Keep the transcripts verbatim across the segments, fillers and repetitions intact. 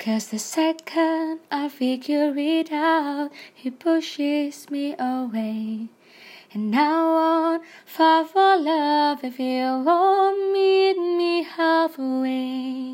'Cause the second I figure it out, he pushes me away. And I won't fall for love if you won't meet me halfway.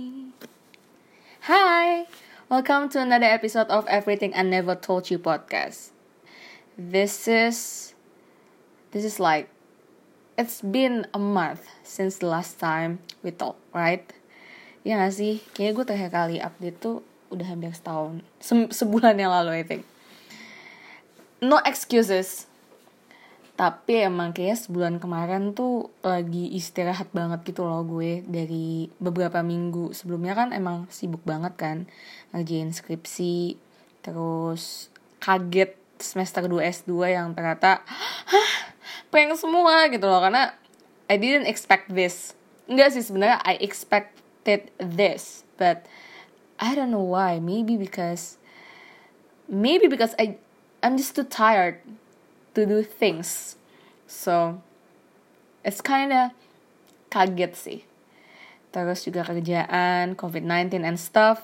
Hi, welcome to another episode of Everything I Never Told You podcast. This is, this is like, it's been a month since the last time we talked, right? Ya gak sih? Kayaknya gue terakhir kali update tuh udah hampir setahun, Se- sebulan yang lalu I think. No excuses. Tapi emang kayak sebulan kemarin tuh lagi istirahat banget gitu loh gue dari beberapa minggu. Sebelumnya kan emang sibuk banget kan, ngerjain skripsi, terus kaget semester dua S dua yang ternyata hah, prank semua gitu loh. Karena I didn't expect this. Enggak sih sebenarnya I expected this, but I don't know why. Maybe because maybe because I I'm just too tired to do things. So it's kinda kaget sih. Terus juga kerjaan, covid nineteen and stuff.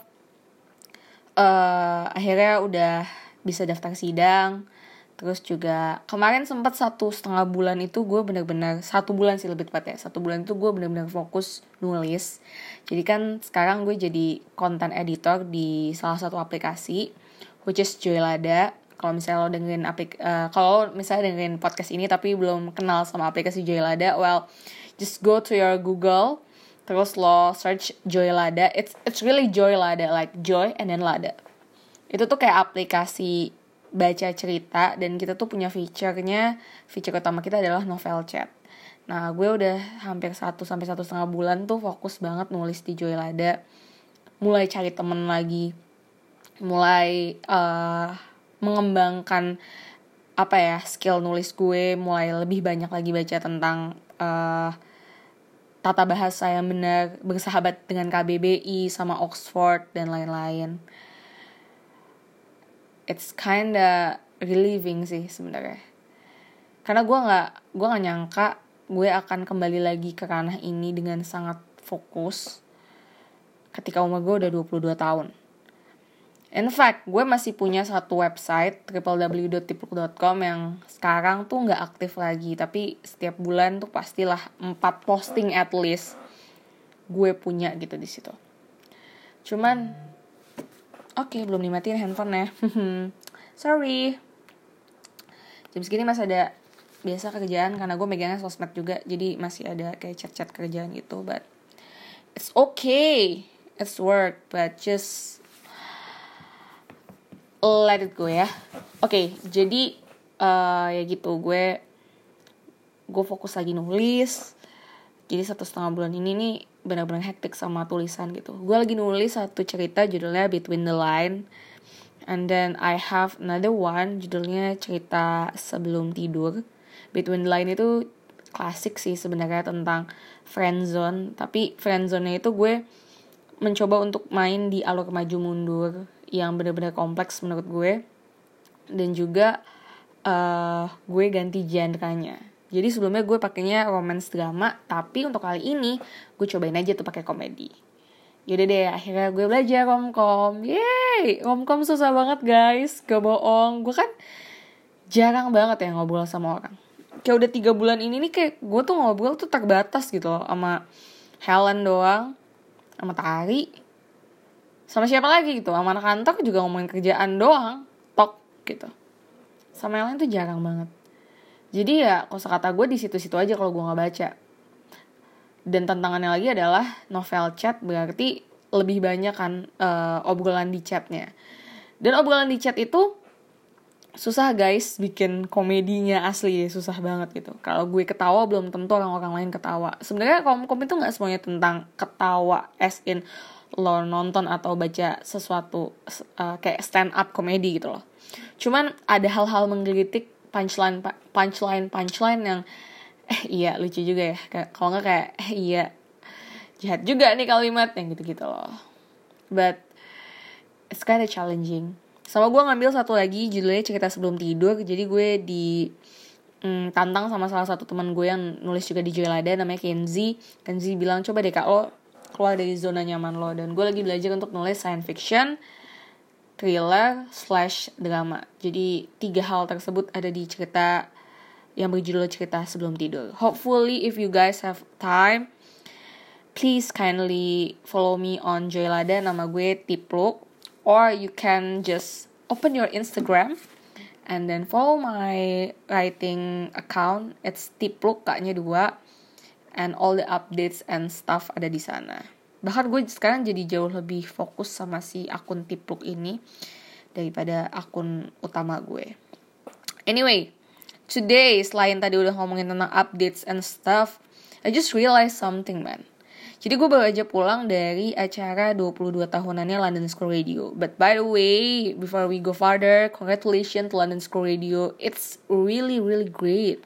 uh, Akhirnya udah bisa daftar sidang. Terus juga kemarin sempat satu setengah bulan itu gue benar-benar satu bulan sih lebih tepatnya satu bulan itu gue benar-benar fokus nulis. Jadi kan sekarang gue jadi content editor di salah satu aplikasi, which is Joylada. Kalau misalnya lo dengerin aplik, uh, kalau misalnya dengerin podcast ini tapi belum kenal sama aplikasi Joylada, well, just go to your Google, terus lo search Joylada. It's it's really Joylada, like joy and then lada. Itu tuh kayak aplikasi baca cerita dan kita tuh punya feature-nya, feature utama kita adalah novel chat. Nah, gue udah hampir satu sampai satu setengah bulan tuh fokus banget nulis di Joylada, mulai cari temen lagi, mulai uh, mengembangkan apa ya skill nulis gue, mulai lebih banyak lagi baca tentang uh, tata bahasa yang benar, bersahabat dengan K B B I sama Oxford dan lain-lain. It's kinda relieving sih sebenarnya, karena gue nggak gue nggak nyangka gue akan kembali lagi ke ranah ini dengan sangat fokus ketika umur gue udah dua puluh dua tahun. In fact, gue masih punya satu website w w w dot tipluk dot com yang sekarang tuh nggak aktif lagi, tapi setiap bulan tuh pastilah empat posting at least gue punya gitu di situ. Cuman, oke okay, belum dimatiin handphonenya. Sorry. Jam segini masih ada biasa kerjaan karena gue megangnya sosmed juga, jadi masih ada kayak chat-chat kerjaan gitu. But it's okay, it's work, but just let it go ya. Oke, okay, jadi uh, ya gitu gue gue fokus lagi nulis. Jadi satu setengah bulan ini nih benar-benar hektik sama tulisan gitu. Gue lagi nulis satu cerita judulnya Between the Line, and then I have another one judulnya cerita sebelum tidur. Between the Line itu klasik sih sebenarnya tentang friendzone, tapi friendzone-nya itu gue mencoba untuk main di alur maju mundur yang benar-benar kompleks menurut gue, dan juga uh, gue ganti genre-nya. Jadi sebelumnya gue pakainya romance drama, tapi untuk kali ini gue cobain aja tuh pakai komedi. Yaudah deh, akhirnya gue belajar romcom. Yeay, romcom susah banget guys, gak bohong. Gue kan jarang banget ya ngobrol sama orang. Kayak udah tiga bulan ini nih kayak gue tuh ngobrol tuh terbatas gitu loh, sama Helen doang, sama Tari, sama siapa lagi gitu, sama anak kantor juga ngomongin kerjaan doang, tok gitu. Sama yang lain tuh jarang banget. Jadi ya kosakata gue di situ-situ aja kalau gue nggak baca. Dan tantangannya lagi adalah novel chat, berarti lebih banyak kan uh, obrolan di chatnya. Dan obrolan di chat itu susah guys, bikin komedinya asli susah banget gitu. Kalau gue ketawa belum tentu orang-orang lain ketawa. Sebenarnya komkom itu nggak semuanya tentang ketawa, as in lo nonton atau baca sesuatu uh, kayak stand up komedi gitu loh. Cuman ada hal-hal menggelitik, punchline punchline punchline yang eh iya lucu juga ya. Kalau nggak kayak eh iya jahat juga nih kalimat yang gitu-gitu loh. But it's kinda challenging. Sama gue ngambil satu lagi judulnya cerita sebelum tidur. Jadi gue di mm, tantang sama salah satu teman gue yang nulis juga di Joylada, namanya Kenzi. Kenzi bilang coba deh kak lo keluar dari zona nyaman lo. Dan gue lagi belajar untuk nulis science fiction, thriller, slash drama. Jadi tiga hal tersebut ada di cerita yang berjudul Cerita Sebelum Tidur. Hopefully if you guys have time, please kindly follow me on Joylada, nama gue Tipluk. Or you can just open your Instagram and then follow my writing account. It's Tipluk, kaknya dua. And all the updates and stuff ada di sana. Bahkan gue sekarang jadi jauh lebih fokus sama si akun Tipluk ini daripada akun utama gue. Anyway, today selain tadi udah ngomongin tentang updates and stuff, I just realized something, man. Jadi gue baru aja pulang dari acara dua puluh dua tahunannya London School Radio. But by the way, before we go further, congratulations to London School Radio. It's really really great.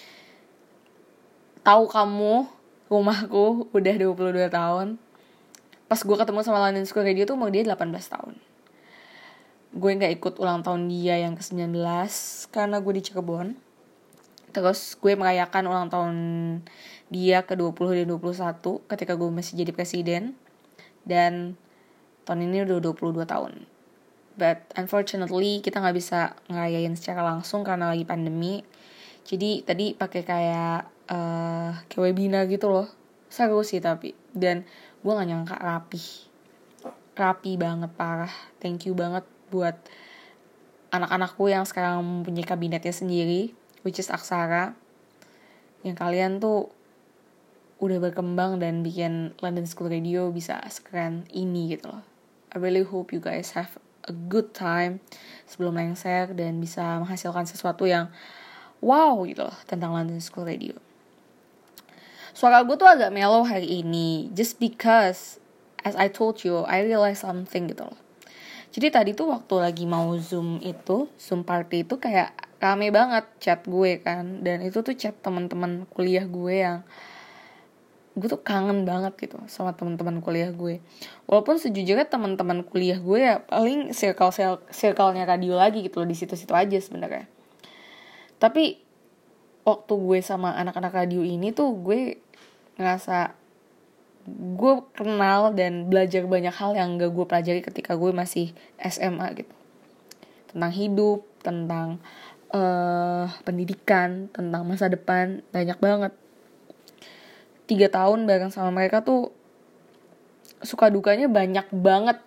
Tahu kamu, rumahku udah dua puluh dua tahun. Pas gue ketemu sama London School Radio tuh umur dia delapan belas tahun. Gue gak ikut ulang tahun dia yang ke sembilan belas karena gue di Cirebon. Terus gue merayakan ulang tahun dia ke dua puluh dan dua puluh satu ketika gue masih jadi presiden. Dan tahun ini udah dua puluh dua tahun. But unfortunately kita gak bisa ngerayain secara langsung karena lagi pandemi. Jadi tadi pakai kayak uh, kayak webinar gitu loh. Seru sih tapi. Dan gue gak nyangka rapi. Rapi banget, parah. Thank you banget buat anak-anakku yang sekarang mempunyai kabinetnya sendiri, which is Aksara. Yang kalian tuh udah berkembang dan bikin London School Radio bisa sekeren ini gitu loh. I really hope you guys have a good time sebelum lengser dan bisa menghasilkan sesuatu yang wow gitu loh tentang London School Radio. Suara gue tuh agak mellow hari ini, just because as I told you, I realized something gitu loh. Jadi tadi tuh waktu lagi mau zoom itu, zoom party itu kayak rame banget chat gue kan. Dan itu tuh chat teman-teman kuliah gue yang gue tuh kangen banget gitu sama teman-teman kuliah gue. Walaupun sejujurnya teman-teman kuliah gue ya paling circle circle-nya radio lagi gitu loh, di situ-situ aja sebenarnya. Tapi waktu gue sama anak-anak radio ini tuh gue ngerasa gue kenal dan belajar banyak hal yang gak gue pelajari ketika gue masih S M A gitu. Tentang hidup, tentang uh, pendidikan, tentang masa depan, banyak banget. Tiga tahun bareng sama mereka tuh suka dukanya banyak banget.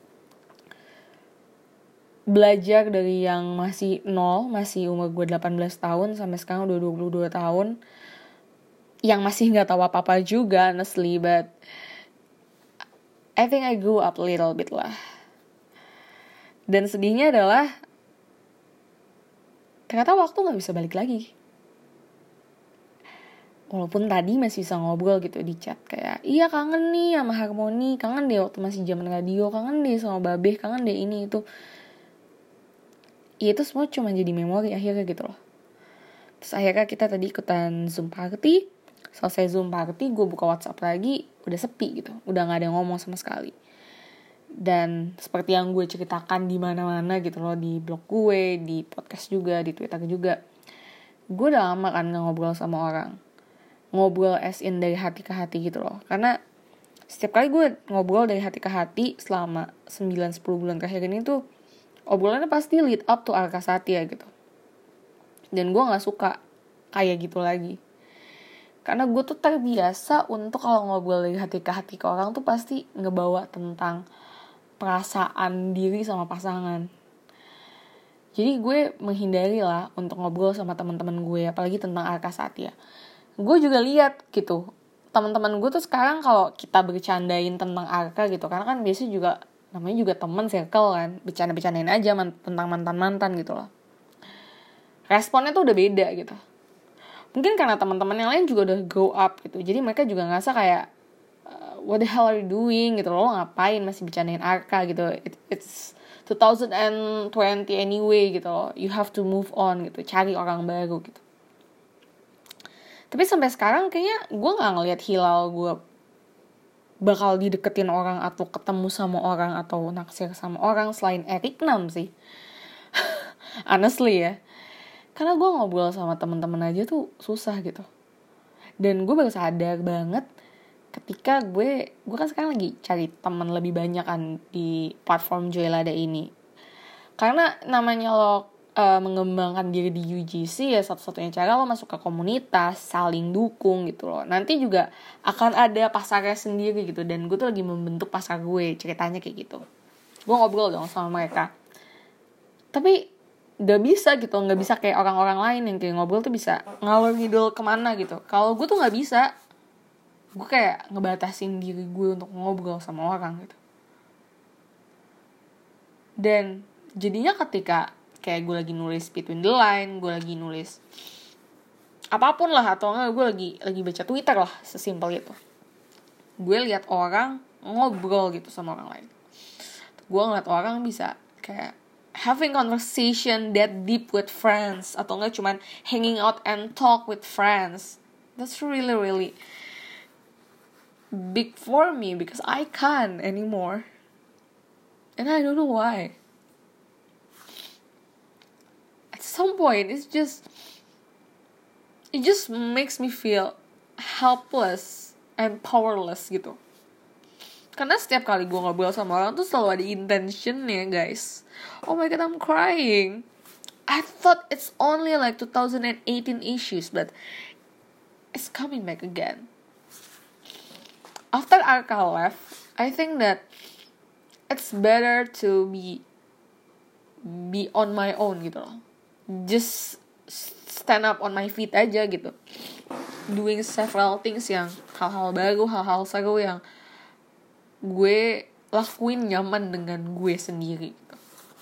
Belajar dari yang masih nol, masih umur gue delapan belas tahun sampai sekarang udah dua puluh dua tahun. Yang masih gak tahu apa-apa juga honestly, but I think I grew up a little bit lah. Dan sedihnya adalah ternyata waktu gak bisa balik lagi. Walaupun tadi masih bisa ngobrol gitu di chat, kayak iya kangen nih sama Harmoni, kangen deh waktu masih zaman radio, kangen deh sama Babeh, kangen deh ini itu. Ya itu semua cuma jadi memori akhirnya gitu loh. Terus akhirnya kita tadi ikutan Zoom party. Selesai Zoom party, gue buka WhatsApp lagi, udah sepi gitu, udah nggak ada yang ngomong sama sekali. Dan seperti yang gue ceritakan di mana-mana gitu loh, di blog gue, di podcast juga, di Twitter juga, gue udah lama kan nggak ngobrol sama orang, ngobrol as in dari hati ke hati gitu loh. Karena setiap kali gue ngobrol dari hati ke hati selama sembilan sepuluh bulan terakhir ini tuh obrolannya pasti lead up to Arka Satya gitu. Dan gue nggak suka kayak gitu lagi. Karena gue tuh terbiasa untuk kalau ngobrol dari hati ke hati ke orang tuh pasti ngebawa tentang perasaan diri sama pasangan. Jadi gue menghindari lah untuk ngobrol sama teman-teman gue, apalagi tentang Arka Satya. Gue juga lihat gitu, teman-teman gue tuh sekarang kalau kita bercandain tentang Arka gitu, karena kan biasanya juga namanya juga teman circle kan, bercanda-bercandain aja man- tentang mantan-mantan gitu loh. Responnya tuh udah beda gitu. Mungkin karena teman-teman yang lain juga udah grow up gitu. Jadi mereka juga ngerasa kayak uh, what the hell are you doing gitu loh. Lo ngapain masih bercandain Arka gitu. It, it's twenty twenty anyway gitu loh. You have to move on gitu. Cari orang baru gitu. Tapi sampai sekarang kayaknya gue gak ngeliat hilal gue bakal dideketin orang atau ketemu sama orang atau naksir sama orang selain Eric Nam sih. Honestly ya. Karena gue ngobrol sama teman-teman aja tuh susah gitu. Dan gue baru sadar banget ketika gue gue kan sekarang lagi cari teman lebih banyak kan di platform Joylada ini. Karena namanya lo uh, mengembangkan diri di U G C ya satu-satunya cara lo masuk ke komunitas, saling dukung gitu loh. Nanti juga akan ada pasarnya sendiri gitu, dan gue tuh lagi membentuk pasar gue, ceritanya kayak gitu. Gue ngobrol dong sama mereka. Tapi gak bisa gitu, gak bisa kayak orang-orang lain yang kayak ngobrol tuh bisa ngalor ngidul kemana gitu. Kalau gue tuh gak bisa. Gue kayak ngebatasin diri gue untuk ngobrol sama orang gitu. Dan jadinya ketika kayak gue lagi nulis between the line, gue lagi nulis apapun lah, atau enggak gue lagi lagi baca Twitter lah, sesimpel itu, gue lihat orang ngobrol gitu sama orang lain. Gue ngeliat orang bisa kayak having conversation that deep with friends, atau enggak cuman hanging out and talk with friends. That's really really big for me because I can't anymore. And I don't know why. At some point, it's just, it just makes me feel helpless and powerless gitu. Karena setiap kali gue ngobrol sama orang tuh selalu ada intentionnya, guys. Oh my god, I'm crying. I thought it's only like twenty eighteen issues, but it's coming back again. After Arka left, I think that it's better to be be on my own gitu loh. Just stand up on my feet aja gitu. Doing several things yang hal-hal baru, hal-hal seru yang gue lakuin nyaman dengan gue sendiri gitu.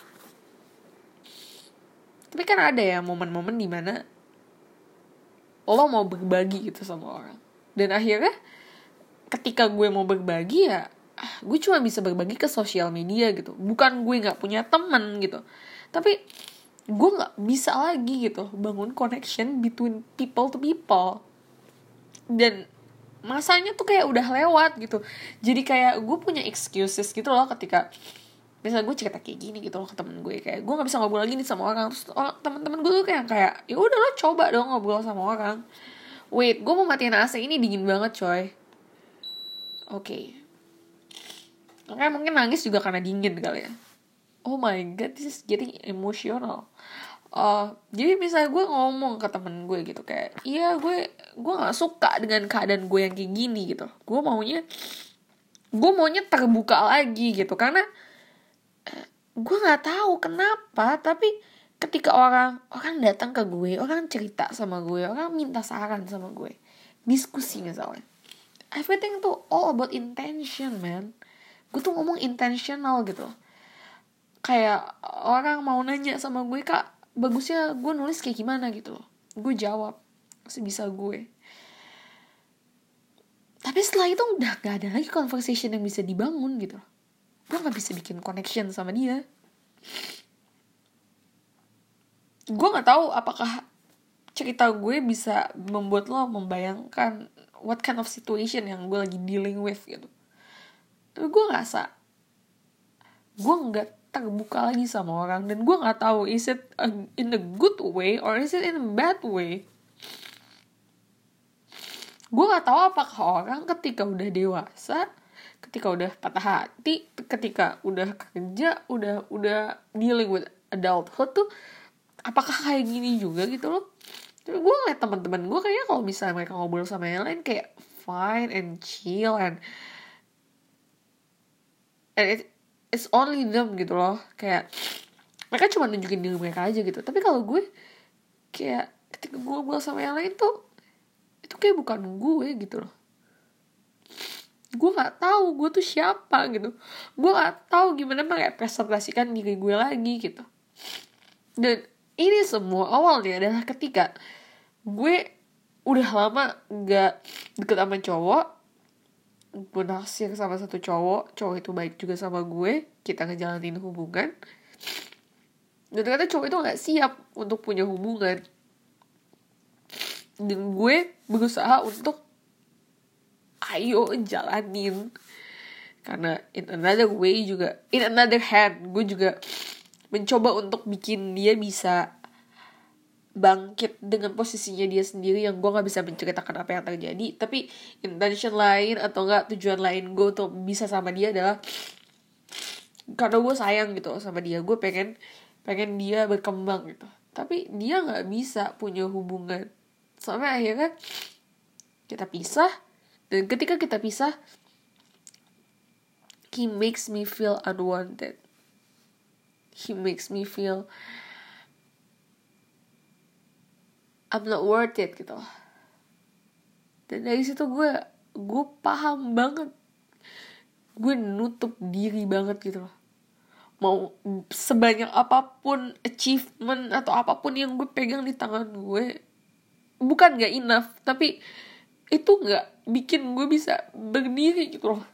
Tapi kan ada ya momen-momen dimana lo mau berbagi gitu sama orang. Dan akhirnya ketika gue mau berbagi ya gue cuma bisa berbagi ke sosial media gitu. Bukan gue gak punya temen gitu, tapi gue gak bisa lagi gitu bangun connection between people to people. Dan masanya tuh kayak udah lewat gitu. Jadi kayak gue punya excuses gitu loh ketika misalnya gue cerita kayak gini gitu loh ke temen gue, kayak gue gak bisa ngobrol lagi nih sama orang. Terus orang, temen-temen gue tuh kayak kayak ya udah lo coba dong ngobrol sama orang. Wait, gue mau matiin A C, ini dingin banget coy. Oke, okay. Makanya mungkin nangis juga karena dingin kali ya. Oh my god, this is getting emotional. Uh, jadi misalnya gue ngomong ke temen gue gitu kayak, iya gue gue nggak suka dengan keadaan gue yang kayak gini gitu. Gue maunya gue maunya terbuka lagi gitu, karena uh, gue nggak tahu kenapa, tapi ketika orang orang datang ke gue, orang cerita sama gue, orang minta saran sama gue, diskusi misalnya, everything tuh all about intention, man. Gue tuh ngomong intentional gitu. Kayak orang mau nanya sama gue, kak bagusnya gue nulis kayak gimana gitu loh, gue jawab sebisa gue. Tapi setelah itu udah gak ada lagi conversation yang bisa dibangun gitu loh. Gue gak bisa bikin connection sama dia. Gue gak tahu apakah cerita gue bisa membuat lo membayangkan what kind of situation yang gue lagi dealing with gitu. Tapi gue ngerasa gue gak terbuka lagi sama orang, dan gue nggak tahu is it a, in a good way or is it in a bad way. Gue nggak tahu apakah orang ketika udah dewasa, ketika udah patah hati, ketika udah kerja, udah udah dealing with adulthood tuh apakah kayak gini juga gitu loh. Tapi gue ngeliat teman-teman gue kayaknya kalau misalnya mereka ngobrol sama yang lain kayak fine and chill and and it, it's only them gitu loh. Kayak mereka cuma nunjukin diri mereka aja gitu. Tapi kalau gue kayak ketika gue ngobrol sama yang lain tuh itu kayak bukan gue gitu loh. Gue nggak tahu gue tuh siapa gitu. Gue nggak tahu gimana merepresentasikan diri gue lagi gitu. Dan ini semua awalnya adalah ketika gue udah lama gak deket sama cowok, gue naksir sama satu cowok, cowok itu baik juga sama gue, kita ngejalanin hubungan, dan ternyata cowok itu gak siap untuk punya hubungan, dan gue berusaha untuk ayo jalanin, karena in another way juga, in another hand gue juga mencoba untuk bikin dia bisa bangkit dengan posisinya dia sendiri yang gue nggak bisa menceritakan apa yang terjadi, tapi intention lain atau enggak tujuan lain gue untuk bisa sama dia adalah karena gue sayang gitu sama dia, gue pengen pengen dia berkembang gitu, tapi dia nggak bisa punya hubungan sampai akhirnya kita pisah. Dan ketika kita pisah, he makes me feel unwanted, he makes me feel I'm not worth it gitu. Dan dari situ gue gue paham banget, gue nutup diri banget gitu loh. Mau sebanyak apapun achievement atau apapun yang gue pegang di tangan gue, bukan gak enough, tapi itu gak bikin gue bisa berdiri gitu loh.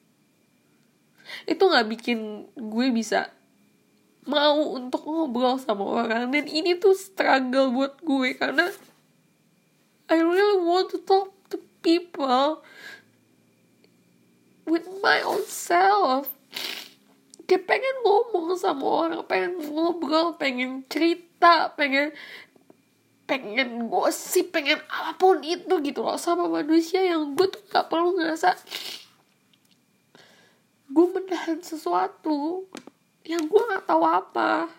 Itu gak bikin gue bisa mau untuk ngobrol sama orang. Dan ini tuh struggle buat gue, karena I really want to talk to people with my own self. Kayak pengen ngomong sama orang, pengen ngobrol, pengen cerita, pengen pengen gosip, pengen apapun itu gitu loh sama manusia yang gue tuh gak perlu ngerasa gue menahan sesuatu yang gue gak tahu apa.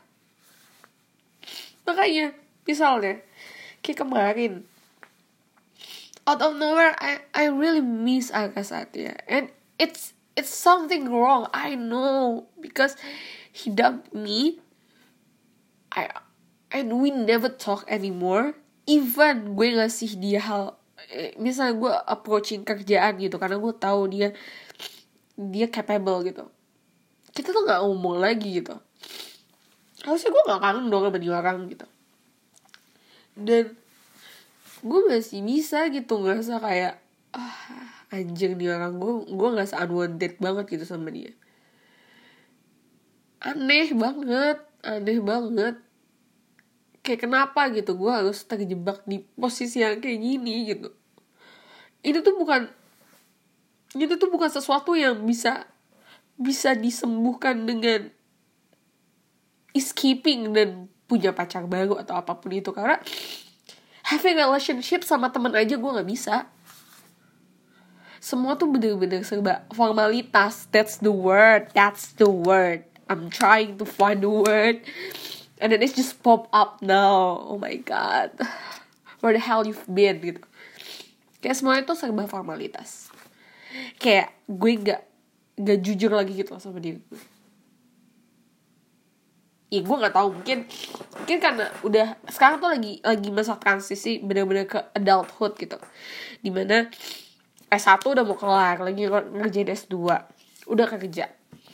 Makanya misalnya kayak kemarin, out of nowhere I I really miss Arka Satya, and it's it's something wrong, I know, because he dumped me. I and we never talk anymore. Even gue ngasih dia hal, eh, misalnya gue approaching kerjaan gitu, karena gue tahu dia dia capable gitu, kita tuh nggak ngomong lagi gitu. Harusnya gue nggak kangen dong sama dia orang gitu. Dan gue masih bisa gitu ngerasa kayak ah anjing nih orang, gue gue ngerasa unwanted banget gitu sama dia. Aneh banget, aneh banget. Kayak kenapa gitu gue harus terjebak di posisi yang kayak gini gitu. Ini tuh bukan, itu tuh bukan sesuatu yang bisa bisa disembuhkan dengan escaping dan punya pacar baru atau apapun itu. Karena having relationship sama teman aja gue nggak bisa. Semua tuh bener-bener serba formalitas. That's the word. That's the word. I'm trying to find the word, and then it's just pop up now. Oh my god, where the hell you've been gitu. Kayak semuanya tuh serba formalitas. Kayak gue gak gak jujur lagi gitu loh sama diri gue. Ya gue gak tahu, mungkin mungkin karena udah sekarang tuh lagi lagi masa transisi bener-bener ke adulthood gitu, dimana S satu udah mau kelar, lagi ngerjain S dua, udah kerja,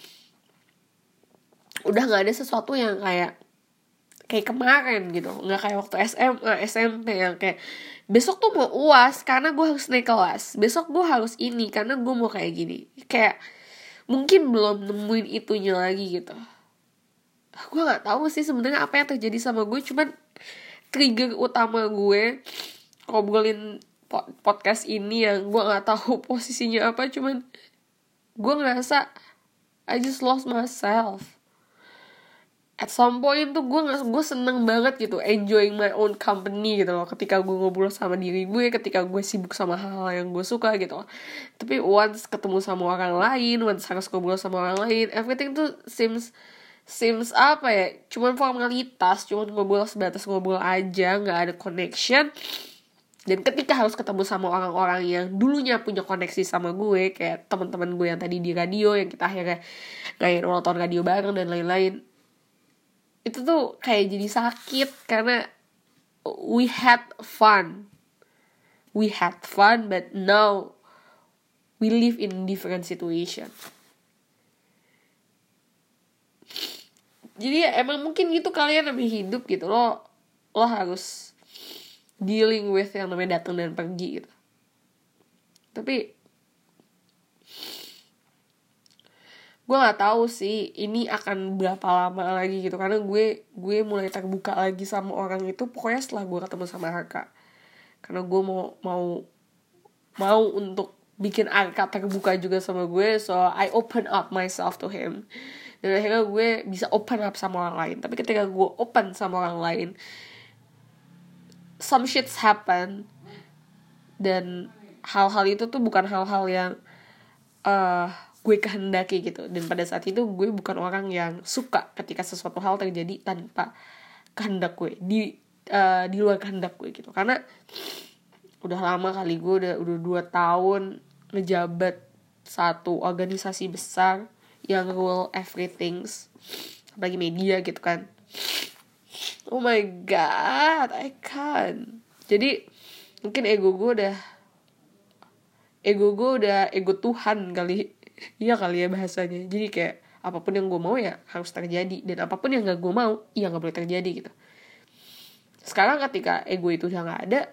udah gak ada sesuatu yang kayak kayak kemarin gitu. Gak kayak waktu S M A, S M P yang kayak besok tuh mau U A S karena gue harus naik kelas, besok gue harus ini karena gue mau kayak gini. Kayak mungkin belum nemuin itunya lagi gitu. Gue gak tahu sih sebenarnya apa yang terjadi sama gue. Cuman trigger utama gue ngobrolin podcast ini yang gue gak tahu posisinya apa, cuman gue ngerasa I just lost myself. At some point tuh gue nggak gue seneng banget gitu, enjoying my own company gitu loh, ketika gue ngobrol sama diri gue, ketika gue sibuk sama hal-hal yang gue suka gitu loh. Tapi once ketemu sama orang lain, once harus ngobrol sama orang lain, everything tuh seems seems apa ya, cuman formalitas, cuman ngobrol sebatas ngobrol aja, nggak ada connection. Dan ketika harus ketemu sama orang-orang yang dulunya punya koneksi sama gue, kayak teman-teman gue yang tadi di radio, yang kita akhirnya kayak nonton radio bareng dan lain-lain, itu tuh kayak jadi sakit. Karena we had fun, we had fun, but now we live in different situation. Jadi ya emang mungkin gitu kalian namanya hidup gitu, lo lo harus dealing with yang namanya datang dan pergi gitu. Tapi gue nggak tahu sih ini akan berapa lama lagi gitu, karena gue gue mulai terbuka lagi sama orang itu pokoknya setelah gue ketemu sama Arka. Karena gue mau mau mau untuk bikin Arka terbuka juga sama gue, so I open up myself to him. Dan akhirnya gue bisa open up sama orang lain. Tapi ketika gue open sama orang lain, some shits happen, dan hal-hal itu tuh bukan hal-hal yang uh, gue kehendaki gitu. Dan pada saat itu gue bukan orang yang suka ketika sesuatu hal terjadi tanpa kehendak gue, di uh, di luar kehendak gue gitu. Karena udah lama kali gue udah udah dua tahun ngejabat satu organisasi besar yang rule everything, apalagi media gitu kan. Oh my god, I can't. Jadi mungkin ego gue udah ego gue udah ego Tuhan kali. Iya kali ya bahasanya. Jadi kayak apapun yang gue mau ya harus terjadi, dan apapun yang gak gue mau ya gak boleh terjadi gitu. Sekarang ketika ego itu udah gak ada,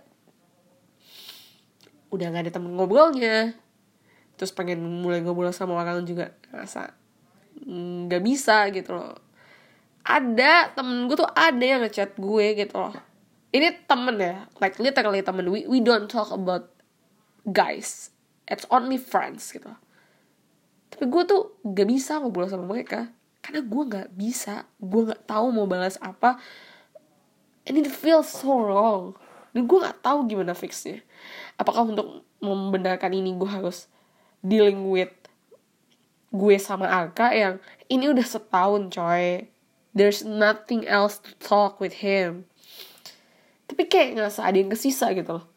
udah gak ada temen ngobrolnya, terus pengen mulai ngobrol sama orang juga ngerasa gak bisa gitu loh. Ada temen gue tuh ada yang ngechat gue gitu loh. Ini temen ya, like literally temen. We, we don't talk about guys, it's only friends gitu. Tapi gue tuh gak bisa ngobrol sama mereka karena gue gak bisa, gue gak tahu mau balas apa, and it feels so wrong. Dan gue gak tahu gimana fixnya. Apakah untuk membenarkan ini gue harus dealing with gue sama Arka yang ini udah setahun coy, there's nothing else to talk with him, tapi kayak ngerasa ada yang kesisa gitu loh.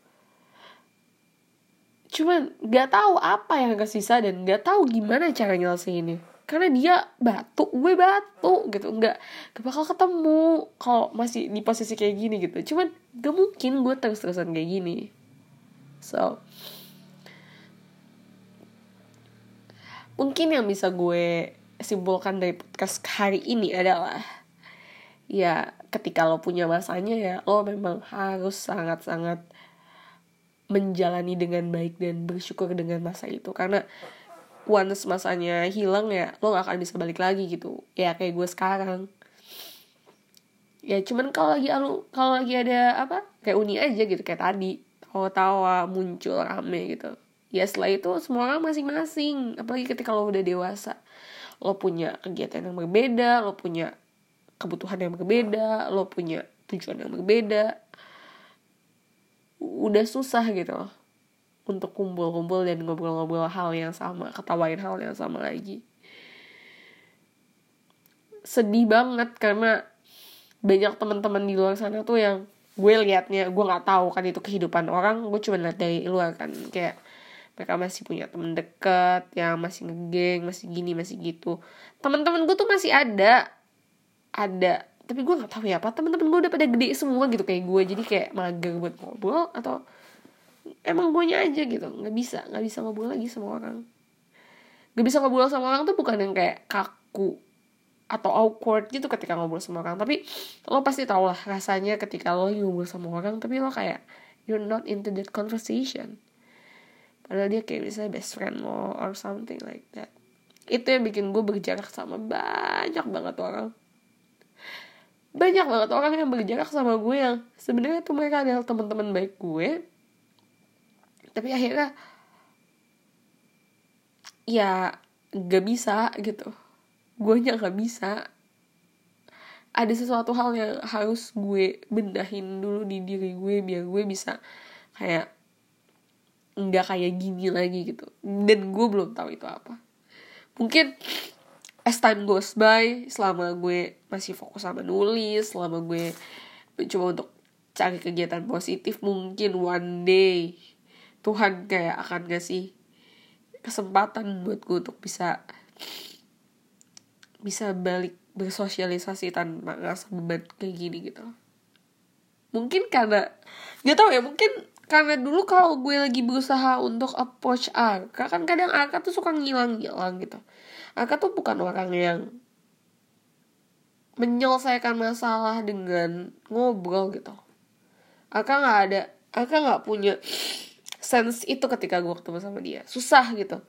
Cuman gak tahu apa yang kesisa dan gak tahu gimana cara nyelesainnya. Karena dia batu, gue batu gitu. Gak, gak bakal ketemu kalau masih di posisi kayak gini gitu. Cuman gak mungkin gue terus-terusan kayak gini. So mungkin yang bisa gue simpulkan dari podcast hari ini adalah, ya ketika lo punya masanya ya lo memang harus sangat-sangat menjalani dengan baik dan bersyukur dengan masa itu. Karena once masanya hilang ya lo gak akan bisa balik lagi gitu. Ya kayak gue sekarang. Ya cuman kalau lagi kalau lagi ada apa kayak uni aja gitu, kayak tadi tawa-tawa muncul rame gitu. Ya setelah itu semua orang masing-masing. Apalagi ketika lo udah dewasa, lo punya kegiatan yang berbeda, lo punya kebutuhan yang berbeda, lo punya tujuan yang berbeda. Udah susah gitu loh untuk kumpul-kumpul dan ngobrol-ngobrol hal yang sama, ketawain hal yang sama lagi. Sedih banget karena banyak teman-teman di luar sana tuh yang gue liatnya, gue nggak tahu kan itu kehidupan orang, gue cuma liat dari luar kan, kayak mereka masih punya temen deket yang masih ngegeng, masih gini, masih gitu. Teman-teman gue tuh masih ada, ada, tapi gue nggak tahu ya apa teman-teman gue udah pada gede semua gitu kayak gue, jadi kayak mager buat ngobrol atau emang gue nya aja gitu, nggak bisa, nggak bisa ngobrol lagi sama orang. Nggak bisa ngobrol sama orang tuh bukan yang kayak kaku atau awkward gitu ketika ngobrol sama orang, tapi lo pasti tau lah rasanya ketika lo ngobrol sama orang tapi lo kayak you're not into that conversation. Padahal dia kayak misalnya best friend lo or something like that. Itu yang bikin gue berjarak sama banyak banget orang. Banyak banget orang yang berjarak sama gue yang sebenarnya tuh mereka adalah teman-teman baik gue. Tapi akhirnya ya gak bisa gitu. Gue nya gak bisa. Ada sesuatu hal yang harus gue benahin dulu di diri gue biar gue bisa kayak nggak kayak gini lagi gitu. Dan gue belum tahu itu apa. Mungkin as time goes by, selama gue masih fokus sama nulis, selama gue mencoba untuk cari kegiatan positif, mungkin one day Tuhan kayak akan ngasih kesempatan buat gue untuk bisa bisa balik bersosialisasi tanpa ngerasa beban kayak gini gitu. Mungkin karena gak tahu ya, mungkin karena dulu kalau gue lagi berusaha untuk approach Arka, kan kadang Arka tuh suka ngilang-ngilang gitu. Arka tuh bukan orang yang menyelesaikan masalah dengan ngobrol gitu. Arka gak ada, Arka gak punya sense itu ketika gue ketemu sama dia. Susah gitu.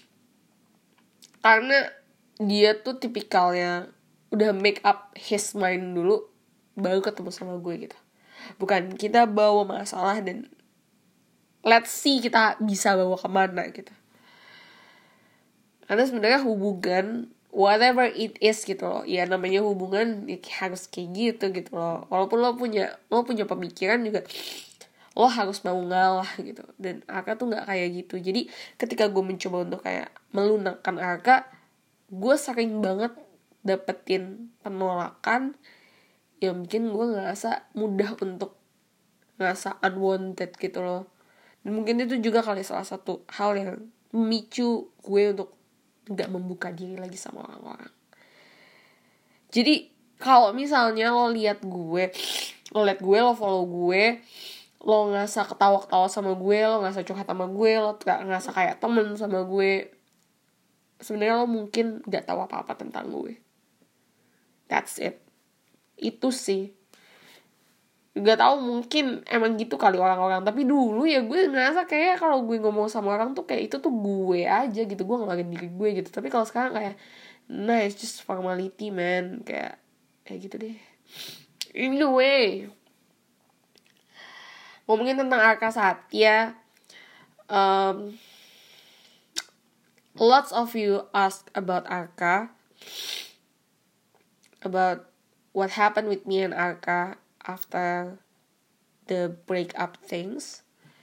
Karena dia tuh tipikalnya udah make up his mind dulu baru ketemu sama gue gitu. Bukan kita bawa masalah dan let's see kita bisa bawa kemana gitu. Karena sebenarnya hubungan whatever it is gitu loh. Ya namanya hubungan ya harus kayak gitu gitu loh. Walaupun lo punya lo punya pemikiran juga, lo harus mau ngalah gitu. Dan Arka tuh nggak kayak gitu. Jadi ketika gue mencoba untuk kayak melunakkan Arka, gue sering banget dapetin penolakan yang bikin gue ngerasa mudah untuk ngerasa unwanted gitu loh. Dan mungkin itu juga kali salah satu hal yang memicu gue untuk gak membuka diri lagi sama orang-orang. Jadi kalau misalnya lo lihat gue, lo lihat gue, lo follow gue, lo ngerasa ketawa-ketawa sama gue, lo ngerasa curhat sama gue, lo gak ngerasa kayak temen sama gue, sebenarnya lo mungkin gak tahu apa-apa tentang gue. That's it. Itu sih. Gak tahu, mungkin emang gitu kali orang-orang. Tapi dulu ya gue ngerasa kayak kalau gue ngomong sama orang tuh kayak itu tuh gue aja gitu, gue ngeluarin diri gue gitu. Tapi kalau sekarang kayak nah it's just formality man, kayak kayak gitu deh. Anyway, ngomongin tentang Arka Satya, um, lots of you ask about Arka, about what happened with me and Arka after the breakup things.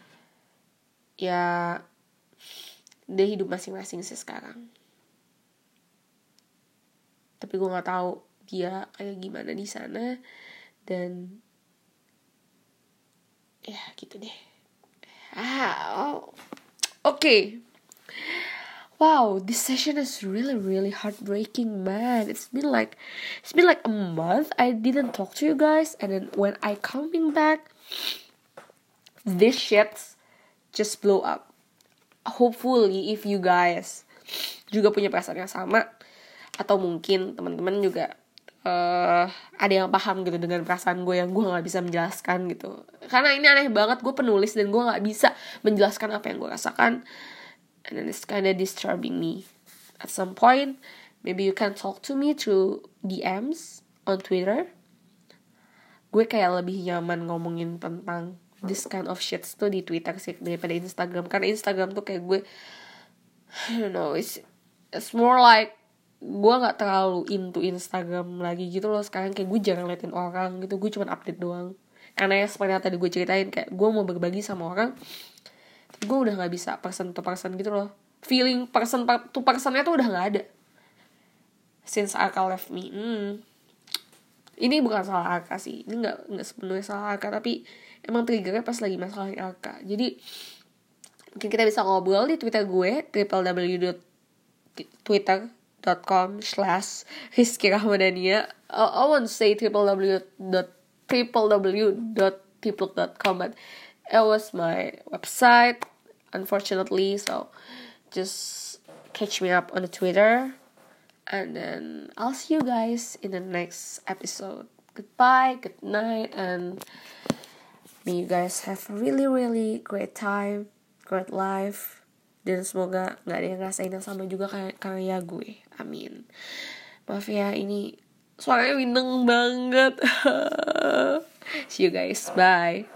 Ya, dia hidup masing-masing sih sekarang. Tapi gue nggak tahu dia kayak gimana di sana. Dan ya gitu deh. Ah, oh. Oke. Okay. Wow, this session is really really heartbreaking, man. It's been like it's been like a month I didn't talk to you guys, and then when I coming back, this shit just blow up. Hopefully if you guys juga punya perasaan yang sama, atau mungkin teman-teman juga uh, ada yang paham gitu dengan perasaan gue yang gue nggak bisa menjelaskan gitu. Karena ini aneh banget, gue penulis dan gue nggak bisa menjelaskan apa yang gue rasakan. And then it's kind of disturbing me. At some point, maybe you can talk to me through D Ms on Twitter. Gue kayak lebih nyaman ngomongin tentang this kind of shit tuh di Twitter sih daripada Instagram. Karena Instagram tuh kayak gue, I don't know, it's, it's more like gue gak terlalu into Instagram lagi gitu loh. Sekarang kayak gue jarang liatin orang gitu, gue cuma update doang. Karena ya seperti yang tadi gue ceritain, kayak gue mau berbagi sama orang, gue udah gak bisa person to person gitu loh. Feeling person to personnya tuh udah gak ada since Arka left me. hmm. Ini bukan salah Arka sih, ini gak, gak sepenuhnya salah Arka, tapi emang triggernya pas lagi masalah Arka. Jadi mungkin kita bisa ngobrol di Twitter gue, w w w dot twitter dot com slash Rizky Rahmadania. I won't say w w w dot people dot com, but it was my website, unfortunately. So just catch me up on the Twitter, and then I'll see you guys in the next episode. Goodbye, good night, and may you guys have a really really great time, great life. Dan semoga gak ada yang ngerasain yang sama juga kayak karya gue. Amin. Maaf ya, ini suaranya wineng banget. See you guys, bye.